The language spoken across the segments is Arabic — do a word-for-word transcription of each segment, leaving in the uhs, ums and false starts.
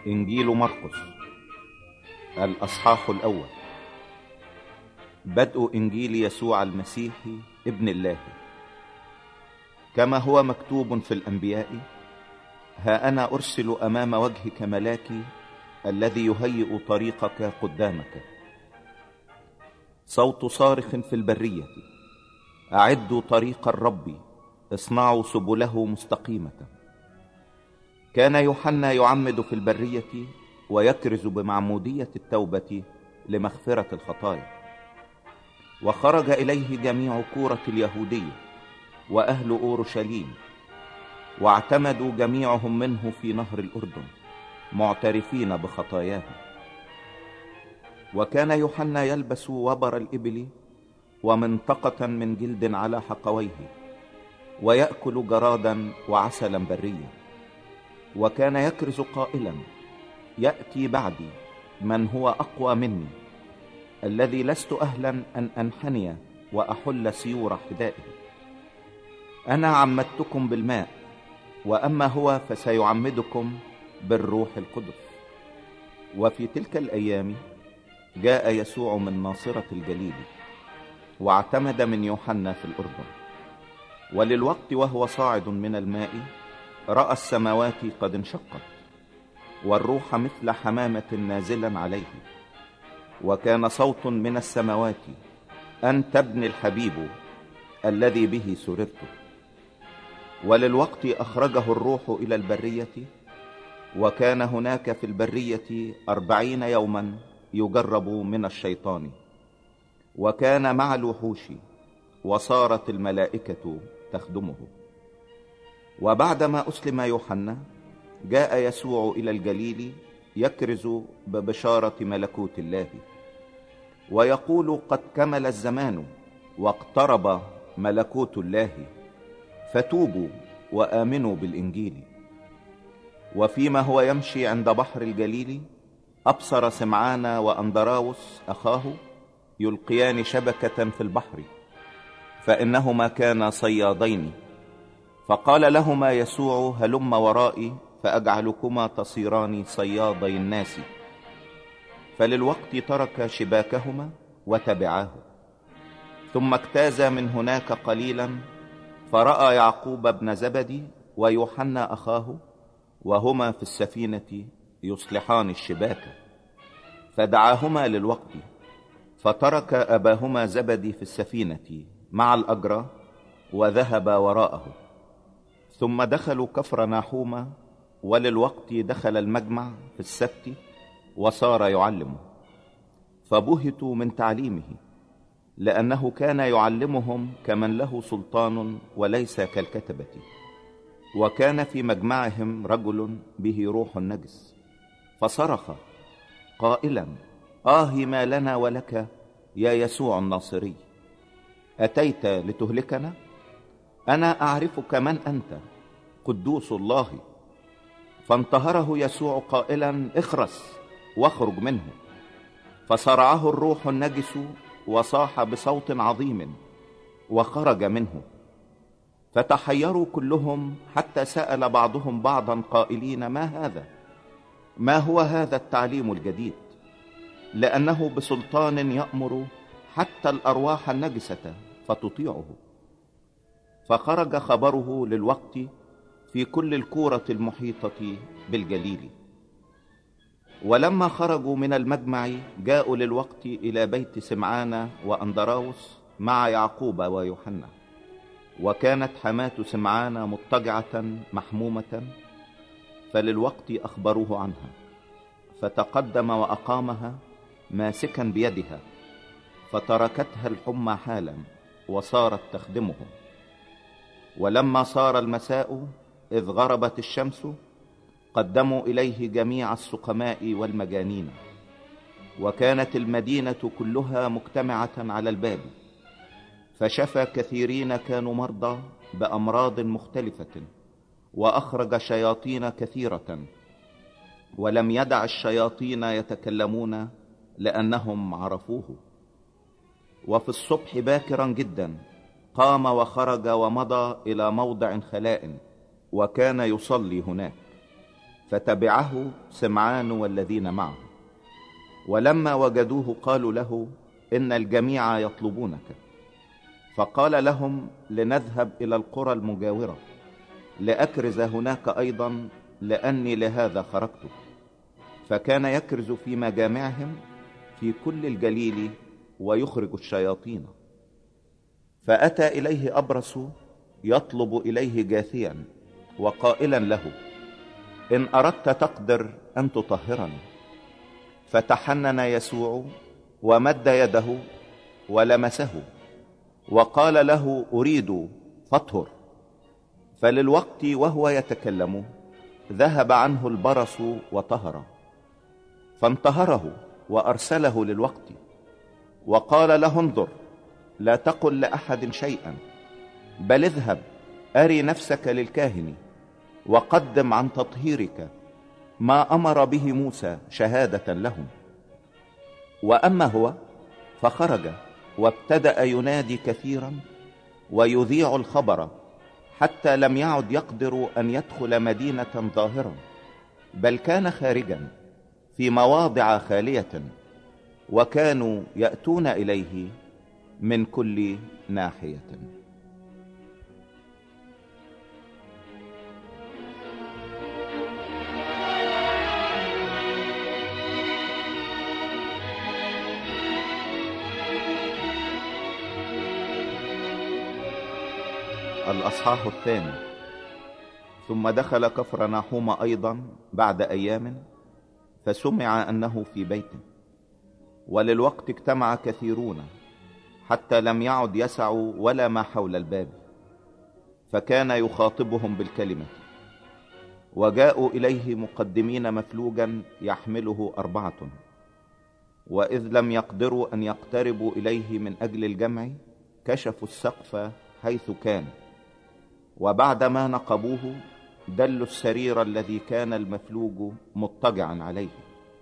إنجيل مرقس الأصحاح الأول. بدء إنجيل يسوع المسيح ابن الله، كما هو مكتوب في الأنبياء: ها أنا أرسل أمام وجهك ملاكي الذي يهيئ طريقك قدامك. صوت صارخ في البرية: أعدوا طريق الرب، اصنعوا سبله مستقيمة. كان يوحنا يعمد في البرية ويكرز بمعمودية التوبة لمغفرة الخطايا، وخرج إليه جميع كورة اليهودية وأهل أورشليم، واعتمدوا جميعهم منه في نهر الأردن معترفين بخطاياهم. وكان يوحنا يلبس وبر الإبل ومنطقة من جلد على حقويه، ويأكل جرادا وعسلا بريا، وكان يكرز قائلا: يأتي بعدي من هو أقوى مني، الذي لست أهلا أن أنحني وأحل سيور حذائه. أنا عمدتكم بالماء، وأما هو فسيعمدكم بالروح القدس. وفي تلك الأيام جاء يسوع من ناصرة الجليل، واعتمد من يوحنا في الأردن. وللوقت وهو صاعد من الماء رأى السماوات قد انشقت، والروح مثل حمامة نازلا عليه، وكان صوت من السماوات: أنت ابن الحبيب الذي به سررت. وللوقت أخرجه الروح إلى البرية، وكان هناك في البرية أربعين يوما يجرب من الشيطان، وكان مع الوحوش، وصارت الملائكة تخدمه. وبعدما أسلم يوحنا جاء يسوع إلى الجليل يكرز ببشارة ملكوت الله، ويقول: قد كمل الزمان واقترب ملكوت الله، فتوبوا وآمنوا بالإنجيل. وفيما هو يمشي عند بحر الجليل أبصر سمعان وأندراوس أخاه يلقيان شبكة في البحر، فإنهما كانا صيادين. فقال لهما يسوع: هلم ورائي فأجعلكما تصيران صيادي الناس. فللوقت ترك شباكهما وتبعاه. ثم اجتاز من هناك قليلا، فرأى يعقوب بن زبدي ويوحنا أخاه وهما في السفينة يصلحان الشباك، فدعاهما للوقت، فترك أباهما زبدي في السفينة مع الأجرة وذهب وراءه. ثم دخلوا كفر ناحوم، وللوقت دخل المجمع في السبت وصار يعلم. فبهتوا من تعليمه، لأنه كان يعلمهم كمن له سلطان وليس كالكتبة. وكان في مجمعهم رجل به روح نجس، فصرخ قائلا: آه ما لنا ولك يا يسوع الناصري، أتيت لتهلكنا؟ أنا أعرفك من أنت، قدوس الله. فانتهره يسوع قائلا: اخرس واخرج منه. فصرعه الروح النجس وصاح بصوت عظيم وخرج منه. فتحيروا كلهم، حتى سأل بعضهم بعضا قائلين: ما هذا؟ ما هو هذا التعليم الجديد؟ لأنه بسلطان يأمر حتى الأرواح النجسة فتطيعه. فخرج خبره للوقت في كل الكورة المحيطة بالجليل. ولما خرجوا من المجمع جاءوا للوقت إلى بيت سمعان وأندراوس مع يعقوب ويوحنا. وكانت حماة سمعان مضطجعة محمومة، فللوقت أخبروه عنها، فتقدم وأقامها ماسكا بيدها، فتركتها الحمى حالا وصارت تخدمهم. ولما صار المساء إذ غربت الشمس قدموا إليه جميع السقماء والمجانين. وكانت المدينة كلها مجتمعة على الباب، فشفى كثيرين كانوا مرضى بأمراض مختلفة، وأخرج شياطين كثيرة، ولم يدع الشياطين يتكلمون لأنهم عرفوه. وفي الصبح باكرا جدا قام وخرج ومضى إلى موضع خلاء، وكان يصلي هناك. فتبعه سمعان والذين معه. ولما وجدوه قالوا له: إن الجميع يطلبونك. فقال لهم: لنذهب إلى القرى المجاورة لأكرز هناك أيضا، لأني لهذا خرجت. فكان يكرز في مجامعهم في كل الجليل ويخرج الشياطين. فأتى إليه أبرص يطلب إليه جاثيا وقائلا له: إن أردت تقدر أن تطهرني. فتحنن يسوع ومد يده ولمسه وقال له: أريد، فاطهر. فللوقت وهو يتكلم ذهب عنه البرص وطهر. فانتهره وأرسله للوقت وقال له: انظر، لا تقل لأحد شيئا، بل اذهب أري نفسك للكاهن وقدم عن تطهيرك ما أمر به موسى شهادة لهم. وأما هو فخرج وابتدأ ينادي كثيرا ويذيع الخبر، حتى لم يعد يقدر أن يدخل مدينة ظاهرا، بل كان خارجا في مواضع خالية، وكانوا يأتون إليه من كل ناحية. الأصحاح الثاني. ثم دخل كفرناحوم أيضا بعد أيام، فسمع أنه في بيته، وللوقت اجتمع كثيرون حتى لم يعد يسعوا ولا ما حول الباب، فكان يخاطبهم بالكلمة. وجاءوا إليه مقدمين مفلوجا يحمله أربعة، وإذ لم يقدروا أن يقتربوا إليه من أجل الجمع، كشفوا السقف حيث كان، وبعدما نقبوه دلوا السرير الذي كان المفلوج مضطجعا عليه.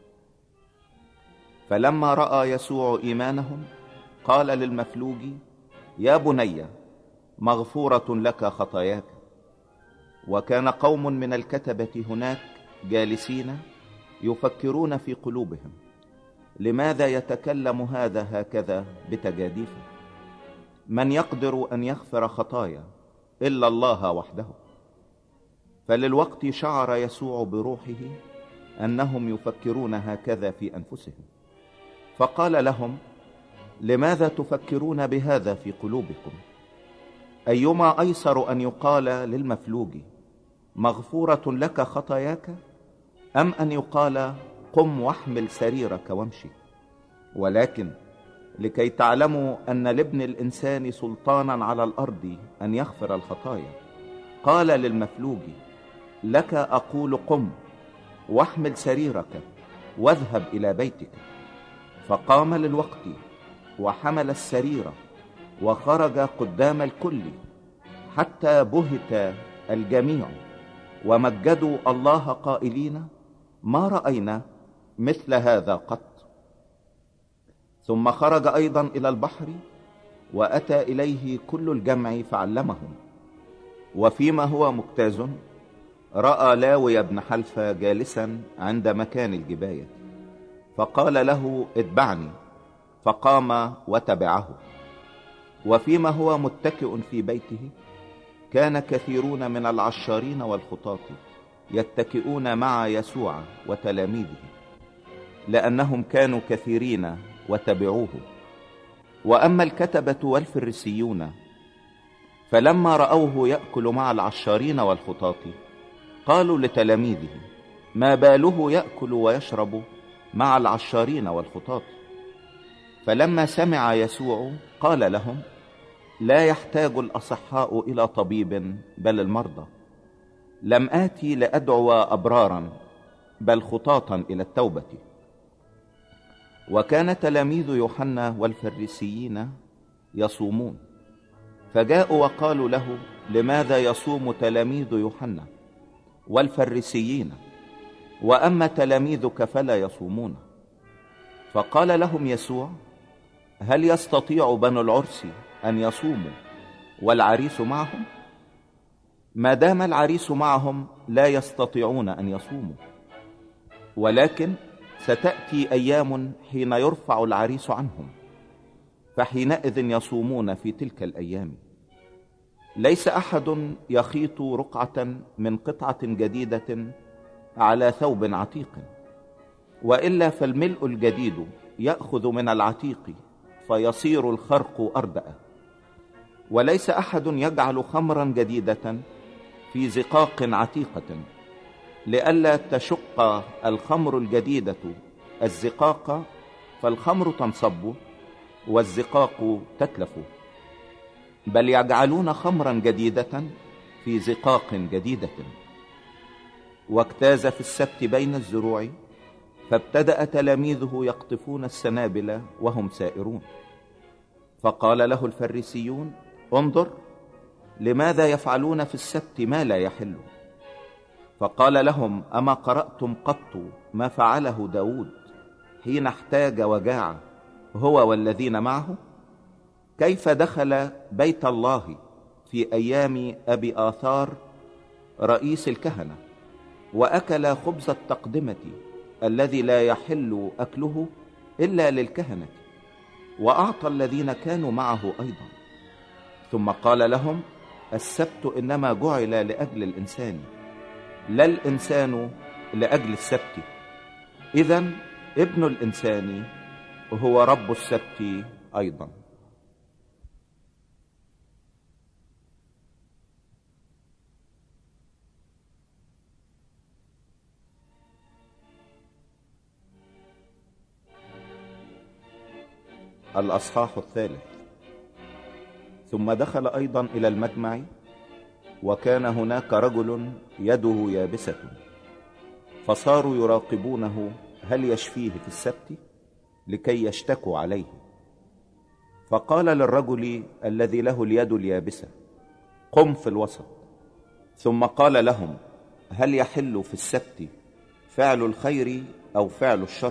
فلما رأى يسوع إيمانهم قال للمفلوج: يا بني، مغفورة لك خطاياك. وكان قوم من الكتبة هناك جالسين يفكرون في قلوبهم: لماذا يتكلم هذا هكذا بتجاديف؟ من يقدر أن يغفر خطايا إلا الله وحده؟ فللوقت شعر يسوع بروحه أنهم يفكرون هكذا في أنفسهم، فقال لهم: لماذا تفكرون بهذا في قلوبكم؟ أيما أيسر أن يقال للمفلوج: مغفورة لك خطاياك، أم أن يقال: قم واحمل سريرك وامشي؟ ولكن لكي تعلموا أن لابن الإنسان سلطانا على الأرض أن يغفر الخطايا، قال للمفلوج: لك أقول قم واحمل سريرك واذهب إلى بيتك. فقام للوقت وحمل السرير وخرج قدام الكل، حتى بهت الجميع ومجدوا الله قائلين: ما رأينا مثل هذا قط. ثم خرج أيضا إلى البحر، وأتى إليه كل الجمع فعلمهم. وفيما هو مجتاز رأى لاوي بن حلفة جالسا عند مكان الجباية، فقال له: اتبعني. فقام وتبعه. وفيما هو متكئ في بيته، كان كثيرون من العشارين والخطاة يتكئون مع يسوع وتلاميذه، لأنهم كانوا كثيرين وتبعوه. وأما الكتبة والفريسيون فلما رأوه يأكل مع العشارين والخطاة، قالوا لتلاميذه: ما باله يأكل ويشرب مع العشارين والخطاة؟ فلما سمع يسوع قال لهم: لا يحتاج الأصحاء إلى طبيب بل المرضى. لم آتي لأدعو أبرارا بل خطاة إلى التوبة. وكان تلاميذ يوحنا والفريسيين يصومون، فجاءوا وقالوا له: لماذا يصوم تلاميذ يوحنا والفريسيين، وأما تلاميذك فلا يصومون؟ فقال لهم يسوع: هل يستطيع بنو العرس أن يصوموا والعريس معهم؟ ما دام العريس معهم لا يستطيعون أن يصوموا، ولكن ستأتي أيام حين يرفع العريس عنهم، فحينئذ يصومون في تلك الأيام. ليس أحد يخيط رقعة من قطعة جديدة على ثوب عتيق، وإلا فالملء الجديد يأخذ من العتيق فيصير الخرق أردأ. وليس أحد يجعل خمرا جديدة في زقاق عتيقة، لئلا تشق الخمر الجديدة الزقاق فالخمر تنصب والزقاق تتلف، بل يجعلون خمرا جديدة في زقاق جديدة. واجتاز في السبت بين الزروع، فابتدأ تلاميذه يقطفون السنابل وهم سائرون. فقال له الفريسيون: انظر، لماذا يفعلون في السبت ما لا يحل؟ فقال لهم: أما قرأتم قط ما فعله داود حين احتاج وجاع هو والذين معه؟ كيف دخل بيت الله في أيام أبي آثار رئيس الكهنة وأكل خبز التقدمة الذي لا يحل أكله إلا للكهنة، وأعطى الذين كانوا معه أيضا. ثم قال لهم: السبت إنما جعل لأجل الإنسان، لا الإنسان لأجل السبت. إذن ابن الإنسان هو رب السبت أيضا. الأصحاح الثالث. ثم دخل أيضا إلى المجمع، وكان هناك رجل يده يابسة، فصاروا يراقبونه هل يشفيه في السبت لكي يشتكوا عليه. فقال للرجل الذي له اليد اليابسة: قم في الوسط. ثم قال لهم: هل يحل في السبت فعل الخير أو فعل الشر،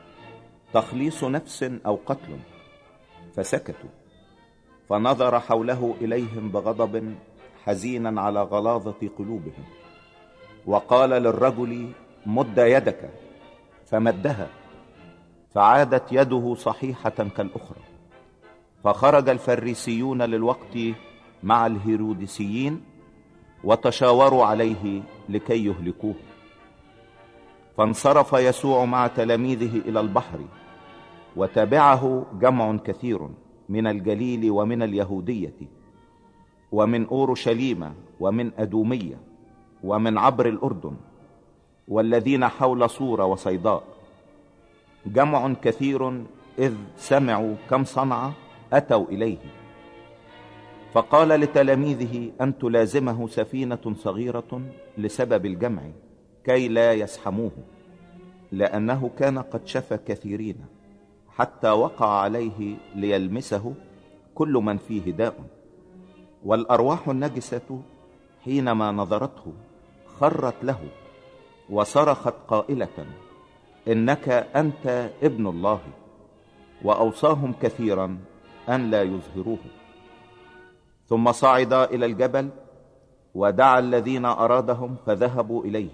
تخليص نفس أو قتل؟ فسكتوا. فنظر حوله إليهم بغضب حزينا على غلاظة قلوبهم، وقال للرجل: مد يدك. فمدها، فعادت يده صحيحة كالأخرى. فخرج الفريسيون للوقت مع الهيروديسيين وتشاوروا عليه لكي يهلكوه. فانصرف يسوع مع تلاميذه إلى البحر، وتبعه جمع كثير من الجليل ومن اليهودية ومن أورشليم ومن أدومية ومن عبر الأردن والذين حول صور وصيداء، جمع كثير إذ سمعوا كم صنع أتوا إليه. فقال لتلاميذه أن تلازمه سفينة صغيرة لسبب الجمع كي لا يسحموه، لأنه كان قد شفى كثيرين حتى وقع عليه ليلمسه كل من فيه داء. والأرواح النجسة حينما نظرته خرت له وصرخت قائلة: إنك أنت ابن الله. وأوصاهم كثيرا أن لا يظهروه. ثم صعد إلى الجبل ودعا الذين أرادهم فذهبوا إليه،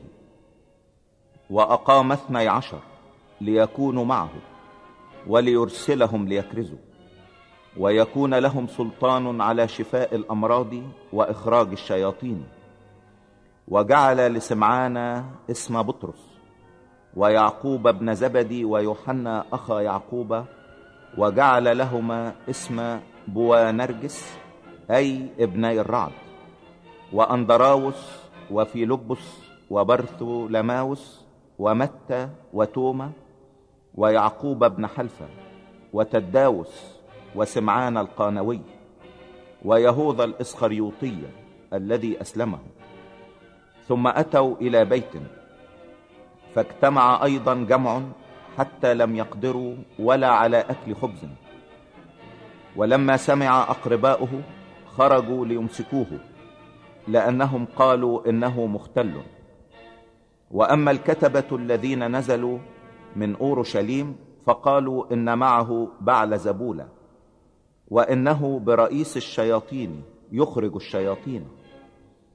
وأقام اثني عشر ليكونوا معه وليرسلهم ليكرزوا، ويكون لهم سلطان على شفاء الأمراض وإخراج الشياطين. وجعل لسمعان اسم بطرس ويعقوب ابن زبدي ويوحنا أخا يعقوب، وجعل لهما اسم بوانرجس أي ابني الرعد، وأندراوس وفيلبس وبرثولماوس ومتى وتوما ويعقوب بن حلفة وتداوس وسمعان القانوي ويهوذا الإسخريوطي الذي أسلمه. ثم أتوا إلى بيت، فاجتمع أيضا جمع حتى لم يقدروا ولا على أكل خبز. ولما سمع أقرباؤه خرجوا ليمسكوه، لأنهم قالوا إنه مختل. وأما الكتبة الذين نزلوا من أورشليم فقالوا إن معه بعلزبول، وإنه برئيس الشياطين يخرج الشياطين.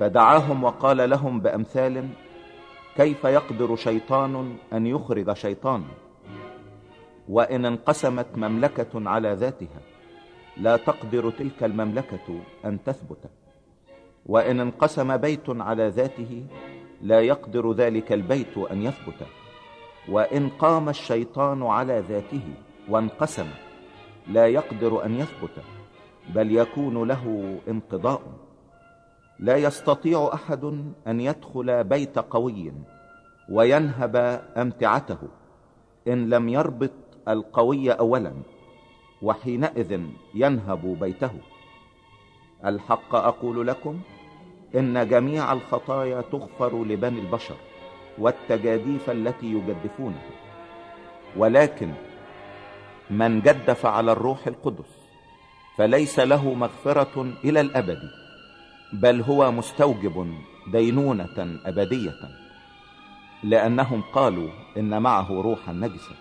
فدعاهم وقال لهم بأمثال: كيف يقدر شيطان أن يخرج شيطانا؟ وإن انقسمت مملكة على ذاتها لا تقدر تلك المملكة أن تثبت، وإن انقسم بيت على ذاته لا يقدر ذلك البيت أن يثبت، وإن قام الشيطان على ذاته وانقسم لا يقدر أن يثبت، بل يكون له انقضاء. لا يستطيع أحد أن يدخل بيت قوي وينهب أمتعته إن لم يربط القوي أولا، وحينئذ ينهب بيته. الحق أقول لكم إن جميع الخطايا تغفر لبني البشر والتجاديف التي يجدفونها، ولكن من جدف على الروح القدس فليس له مغفرة إلى الأبد، بل هو مستوجب دينونة أبدية، لأنهم قالوا إن معه روحا نجسا.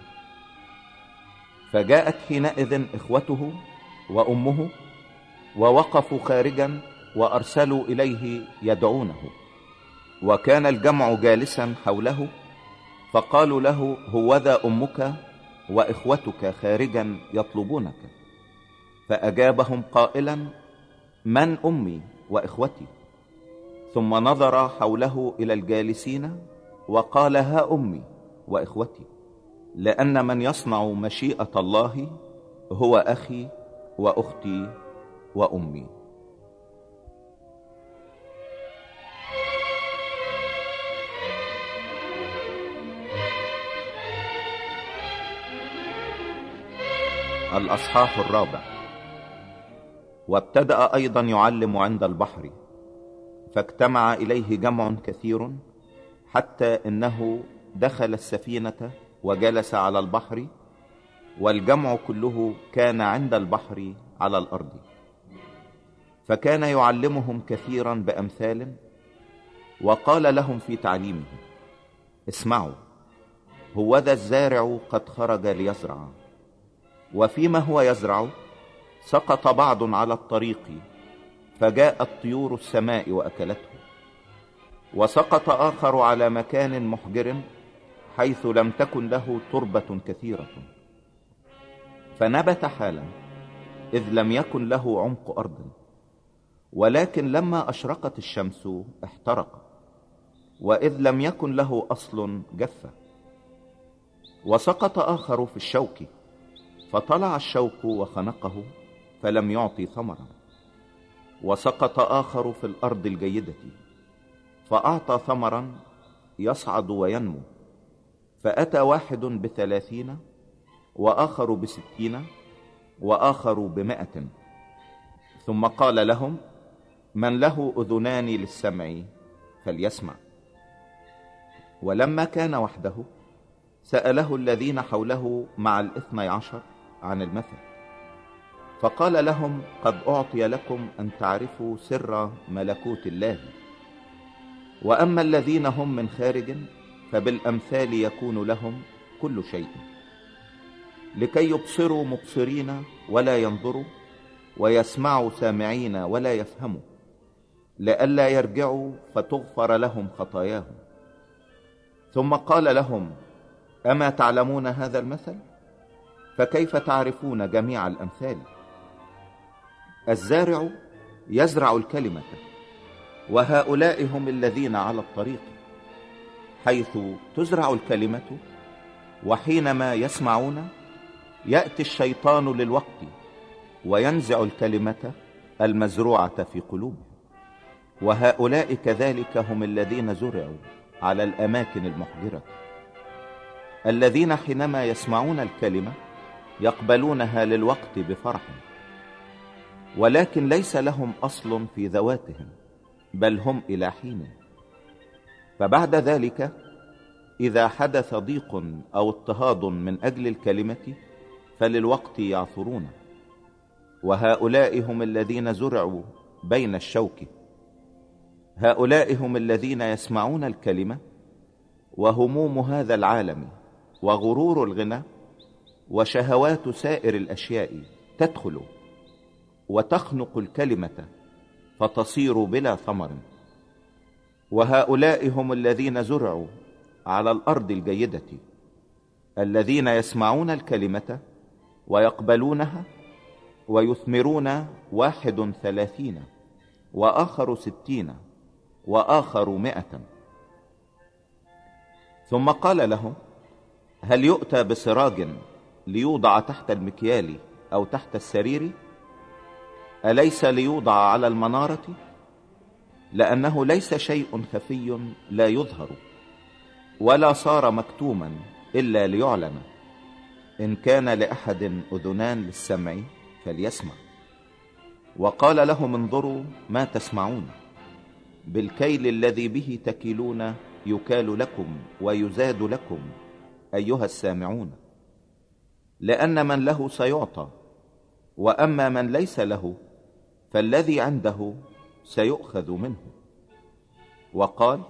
فجاءت حينئذ إخوته وأمه ووقفوا خارجا وأرسلوا إليه يدعونه، وكان الجمع جالسا حوله، فقالوا له: هوذا أمك وإخوتك خارجا يطلبونك. فأجابهم قائلا: من أمي وإخوتي؟ ثم نظر حوله إلى الجالسين وقال: ها أمي وإخوتي، لأن من يصنع مشيئة الله هو أخي وأختي وأمي. الأصحاح الرابع. وابتدأ أيضا يعلم عند البحر، فاجتمع إليه جمع كثير، حتى إنه دخل السفينة وجلس على البحر، والجمع كله كان عند البحر على الأرض. فكان يعلمهم كثيرا بأمثال، وقال لهم في تعليمه: اسمعوا، هوذا الزارع قد خرج ليزرع، وفيما هو يزرع سقط بعض على الطريق، فجاءت طيور السماء وأكلته. وسقط آخر على مكان محجر، حيث لم تكن له تربة كثيرة، فنبت حالا، إذ لم يكن له عمق أرض، ولكن لما أشرقت الشمس احترق، وإذ لم يكن له أصل جف. وسقط آخر في الشوك، فطلع الشوك وخنقه، فلم يعطي ثمرا. وسقط آخر في الأرض الجيدة، فأعطى ثمرا يصعد وينمو، فأتى واحد بثلاثين، وآخر بستين، وآخر بمائة. ثم قال لهم: من له أذنان للسمع فليسمع. ولما كان وحده سأله الذين حوله مع الاثني عشر عن المثل، فقال لهم: قد أعطي لكم أن تعرفوا سر ملكوت الله، وأما الذين هم من خارج فبالأمثال يكون لهم كل شيء، لكي يبصروا مبصرين ولا ينظروا، ويسمعوا سامعين ولا يفهموا، لئلا يرجعوا فتغفر لهم خطاياهم. ثم قال لهم: أما تعلمون هذا المثل؟ فكيف تعرفون جميع الأمثال؟ الزارع يزرع الكلمة، وهؤلاء هم الذين على الطريق، حيث تزرع الكلمة، وحينما يسمعون يأتي الشيطان للوقت وينزع الكلمة المزروعة في قلوبهم. وهؤلاء كذلك هم الذين زرعوا على الأماكن المحجرة، الذين حينما يسمعون الكلمة يقبلونها للوقت بفرح، ولكن ليس لهم أصل في ذواتهم، بل هم إلى حين. فبعد ذلك إذا حدث ضيق أو اضطهاد من أجل الكلمة فللوقت يعثرون. وهؤلاء هم الذين زرعوا بين الشوك، هؤلاء هم الذين يسمعون الكلمة، وهموم هذا العالم وغرور الغنى وشهوات سائر الأشياء تدخل وتخنق الكلمة، فتصير بلا ثمر، وهؤلاء هم الذين زرعوا على الأرض الجيدة، الذين يسمعون الكلمة ويقبلونها ويثمرون، واحد ثلاثين وآخر ستين وآخر مائة. ثم قال لهم: هل يؤتى بسراج ليوضع تحت المكيال أو تحت السرير؟ أليس ليوضع على المنارة؟ لأنه ليس شيء خفي لا يظهر، ولا صار مكتوما إلا ليعلن. إن كان لأحد أذنان للسمع فليسمع. وقال لهم: انظروا ما تسمعون، بالكيل الذي به تكيلون يكال لكم ويزاد لكم أيها السامعون. لأن من له سيعطى، وأما من ليس له فالذي عنده سيؤخذ منه. وقال: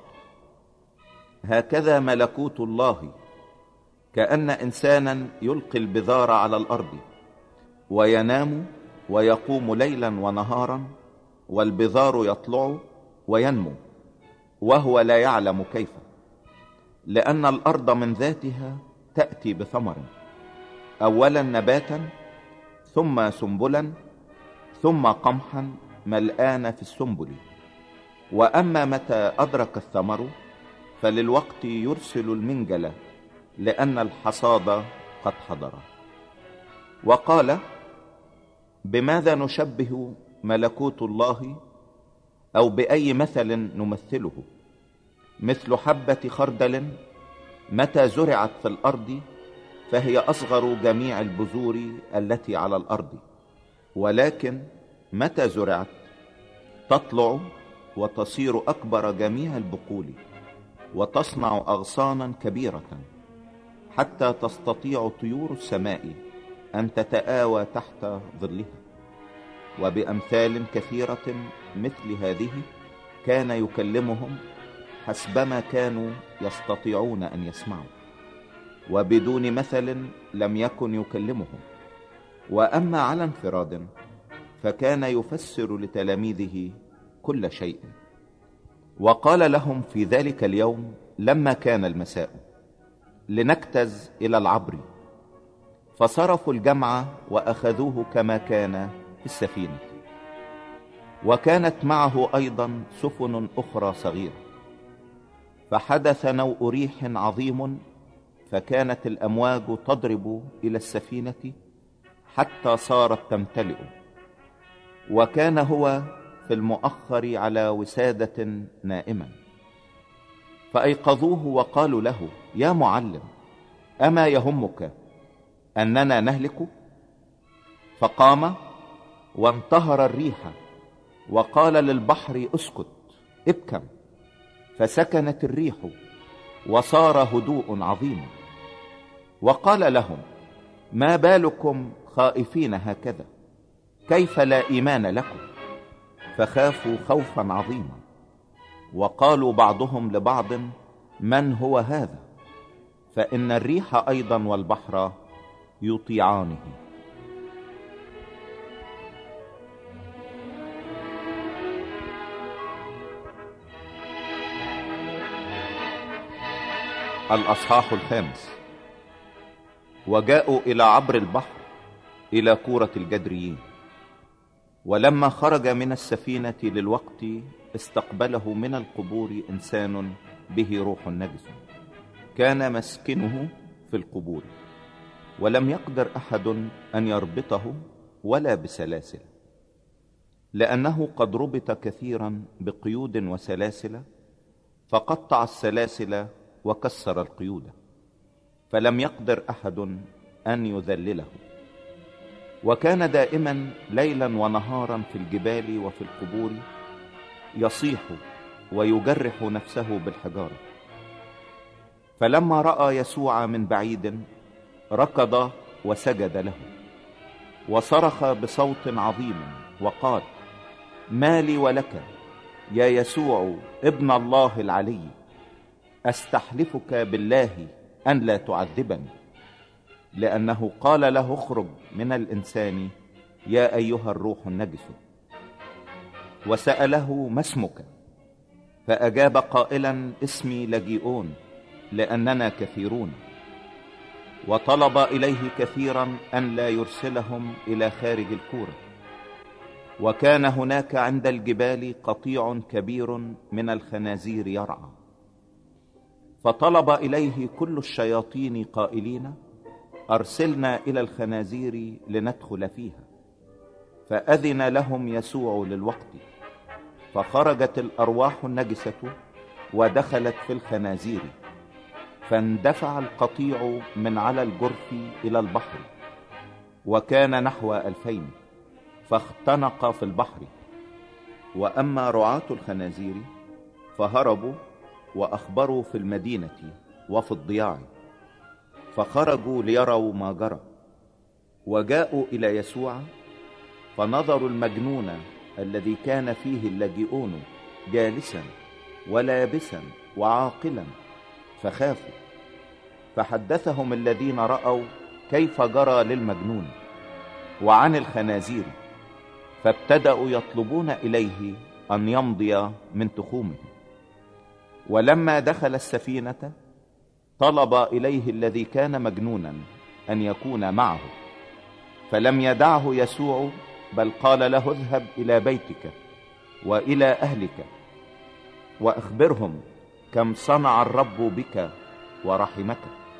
هكذا ملكوت الله، كأن إنسانا يلقي البذار على الأرض، وينام ويقوم ليلا ونهارا، والبذار يطلع وينمو وهو لا يعلم كيف، لأن الأرض من ذاتها تأتي بثمر، أولا نباتا، ثم سنبلا، ثم قمحا ملآن في السنبل. وأما متى أدرك الثمر فللوقت يرسل المنجل، لأن الحصاد قد حضر. وقال: بماذا نشبه ملكوت الله، أو بأي مثل نمثله؟ مثل حبة خردل متى زرعت في الأرض فهي أصغر جميع البذور التي على الأرض، ولكن متى زرعت تطلع وتصير أكبر جميع البقول، وتصنع أغصانا كبيرة، حتى تستطيع طيور السماء أن تتآوى تحت ظلها. وبأمثال كثيرة مثل هذه كان يكلمهم حسبما كانوا يستطيعون أن يسمعوا، وبدون مثل لم يكن يكلمهم. وأما على انفراد فكان يفسر لتلاميذه كل شيء. وقال لهم في ذلك اليوم لما كان المساء: لنجتز إلى العبر. فصرفوا الجمع وأخذوه كما كان في السفينة. وكانت معه أيضا سفن أخرى صغيرة. فحدث نوء ريح عظيم، فكانت الأمواج تضرب إلى السفينة حتى صارت تمتلئ. وكان هو في المؤخر على وسادة نائما. فأيقظوه وقالوا له: يا معلم، أما يهمك أننا نهلك؟ فقام وانتهر الريح وقال للبحر: اسكت، ابكم. فسكنت الريح وصار هدوء عظيم. وقال لهم: ما بالكم خائفين هكذا؟ كيف لا إيمان لكم؟ فخافوا خوفا عظيما. وقالوا بعضهم لبعض: من هو هذا؟ فإن الريح أيضا والبحر يطيعانه. الأصحاح الخامس. وجاءوا إلى عبر البحر إلى كورة الجدريين. ولما خرج من السفينة للوقت استقبله من القبور إنسان به روح نجس، كان مسكنه في القبور، ولم يقدر أحد أن يربطه ولا بسلاسل، لأنه قد ربط كثيرا بقيود وسلاسل، فقطع السلاسل وكسر القيود، فلم يقدر أحد أن يذلله. وكان دائما ليلا ونهارا في الجبال وفي القبور، يصيح ويجرح نفسه بالحجارة. فلما رأى يسوع من بعيد ركض وسجد له، وصرخ بصوت عظيم وقال: ما لي ولك يا يسوع ابن الله العلي؟ أستحلفك بالله أن لا تعذبني. لأنه قال له: اخرج من الإنسان يا أيها الروح النجس. وسأله: ما اسمك؟ فأجاب قائلا: اسمي لجيئون، لأننا كثيرون. وطلب إليه كثيرا أن لا يرسلهم إلى خارج الكورة. وكان هناك عند الجبال قطيع كبير من الخنازير يرعى. فطلب إليه كل الشياطين قائلين: أرسلنا إلى الخنازير لندخل فيها. فأذن لهم يسوع للوقت، فخرجت الأرواح النجسة ودخلت في الخنازير، فاندفع القطيع من على الجرف إلى البحر، وكان نحو ألفين، فاختنق في البحر. وأما رعاة الخنازير فهربوا وأخبروا في المدينة وفي الضياع، فخرجوا ليروا ما جرى. وجاءوا إلى يسوع، فنظروا المجنون الذي كان فيه اللاجئون جالسا ولابسا وعاقلا، فخافوا. فحدثهم الذين رأوا كيف جرى للمجنون وعن الخنازير، فابتدأوا يطلبون إليه أن يمضي من تخومه. ولما دخل السفينة طلب إليه الذي كان مجنونا أن يكون معه، فلم يدعه يسوع، بل قال له: اذهب إلى بيتك وإلى أهلك وأخبرهم كم صنع الرب بك ورحمك.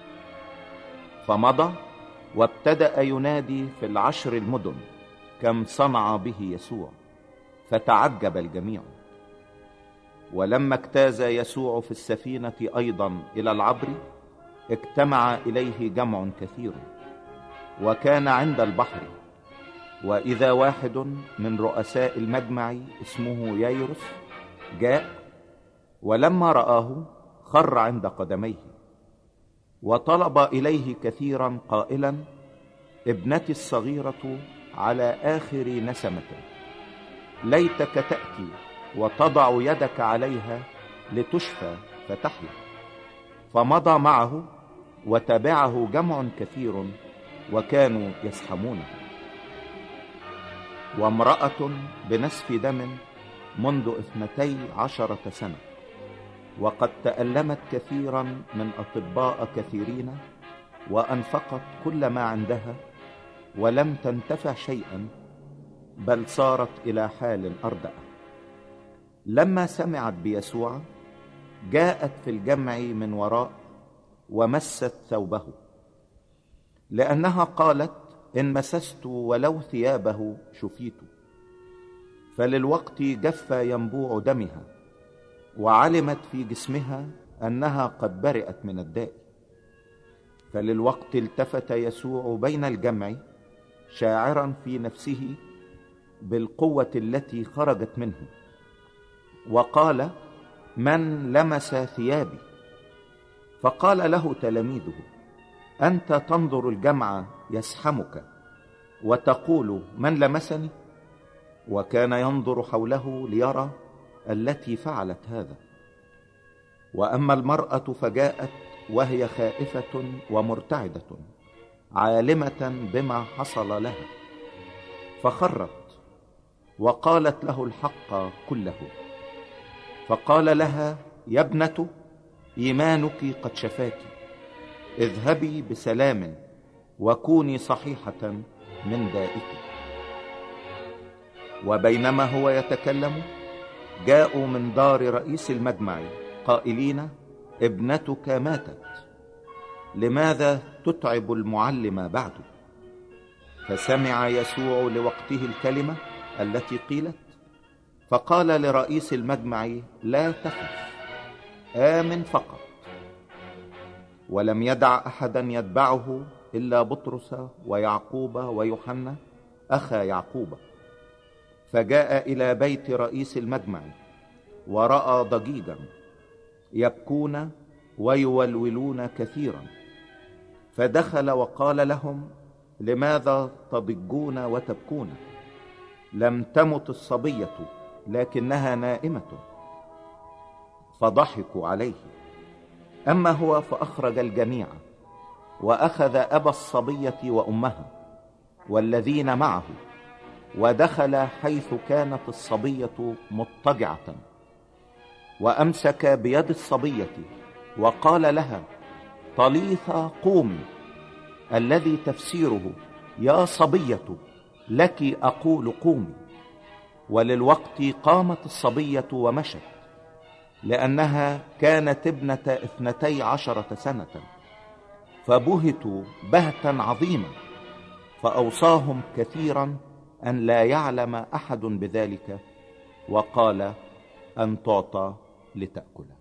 فمضى وابتدأ ينادي في العشر المدن كم صنع به يسوع، فتعجب الجميع. ولما اجتاز يسوع في السفينة أيضا إلى العبر، اجتمع إليه جمع كثير، وكان عند البحر. وإذا واحد من رؤساء المجمع اسمه يايروس جاء، ولما رآه خر عند قدميه، وطلب إليه كثيرا قائلا: ابنتي الصغيرة على آخر نسمة، ليتك تأتي وتضع يدك عليها لتشفى فتحيا. فمضى معه وتبعه جمع كثير، وكانوا يزحمونه. وامرأة بنسف دم منذ اثنتي عشرة سنة، وقد تألمت كثيرا من أطباء كثيرين، وأنفقت كل ما عندها ولم تنتفع شيئا، بل صارت إلى حال أردأ. لما سمعت بيسوع جاءت في الجمع من وراء ومست ثوبه، لأنها قالت: إن مسست ولو ثيابه شفيت. فللوقت جف ينبوع دمها، وعلمت في جسمها أنها قد برئت من الداء. فللوقت التفت يسوع بين الجمع، شاعرا في نفسه بالقوة التي خرجت منه، وقال: من لمس ثيابي؟ فقال له تلاميذه: أنت تنظر الجمع يزحمك وتقول: من لمسني؟ وكان ينظر حوله ليرى التي فعلت هذا. وأما المرأة فجاءت وهي خائفة ومرتعدة، عالمة بما حصل لها، فخرت وقالت له الحق كله. فقال لها: يا ابنة، إيمانك قد شفاك، اذهبي بسلام وكوني صحيحة من دائك. وبينما هو يتكلم جاءوا من دار رئيس المجمع قائلين: ابنتك ماتت، لماذا تتعب المعلم بعد؟ فسمع يسوع لوقته الكلمة التي قيلت، فقال لرئيس المجمع: لا تخف، آمن فقط. ولم يدع أحدا يتبعه إلا بطرس ويعقوب ويوحنا أخا يعقوب. فجاء إلى بيت رئيس المجمع، ورأى ضجيجا يبكون ويولولون كثيرا، فدخل وقال لهم: لماذا تضجون وتبكون؟ لم تمت الصبية، لكنها نائمة. فضحكوا عليه. أما هو فأخرج الجميع، وأخذ أبا الصبية وأمها والذين معه، ودخل حيث كانت الصبية مضطجعة. وأمسك بيد الصبية وقال لها: طليثا قومي، الذي تفسيره يا صبية لك أقول قومي. وللوقت قامت الصبية ومشت، لأنها كانت ابنة اثنتي عشرة سنة. فبهتوا بهتا عظيما، فأوصاهم كثيرا أن لا يعلم أحد بذلك، وقال: أن تعطى لتأكله.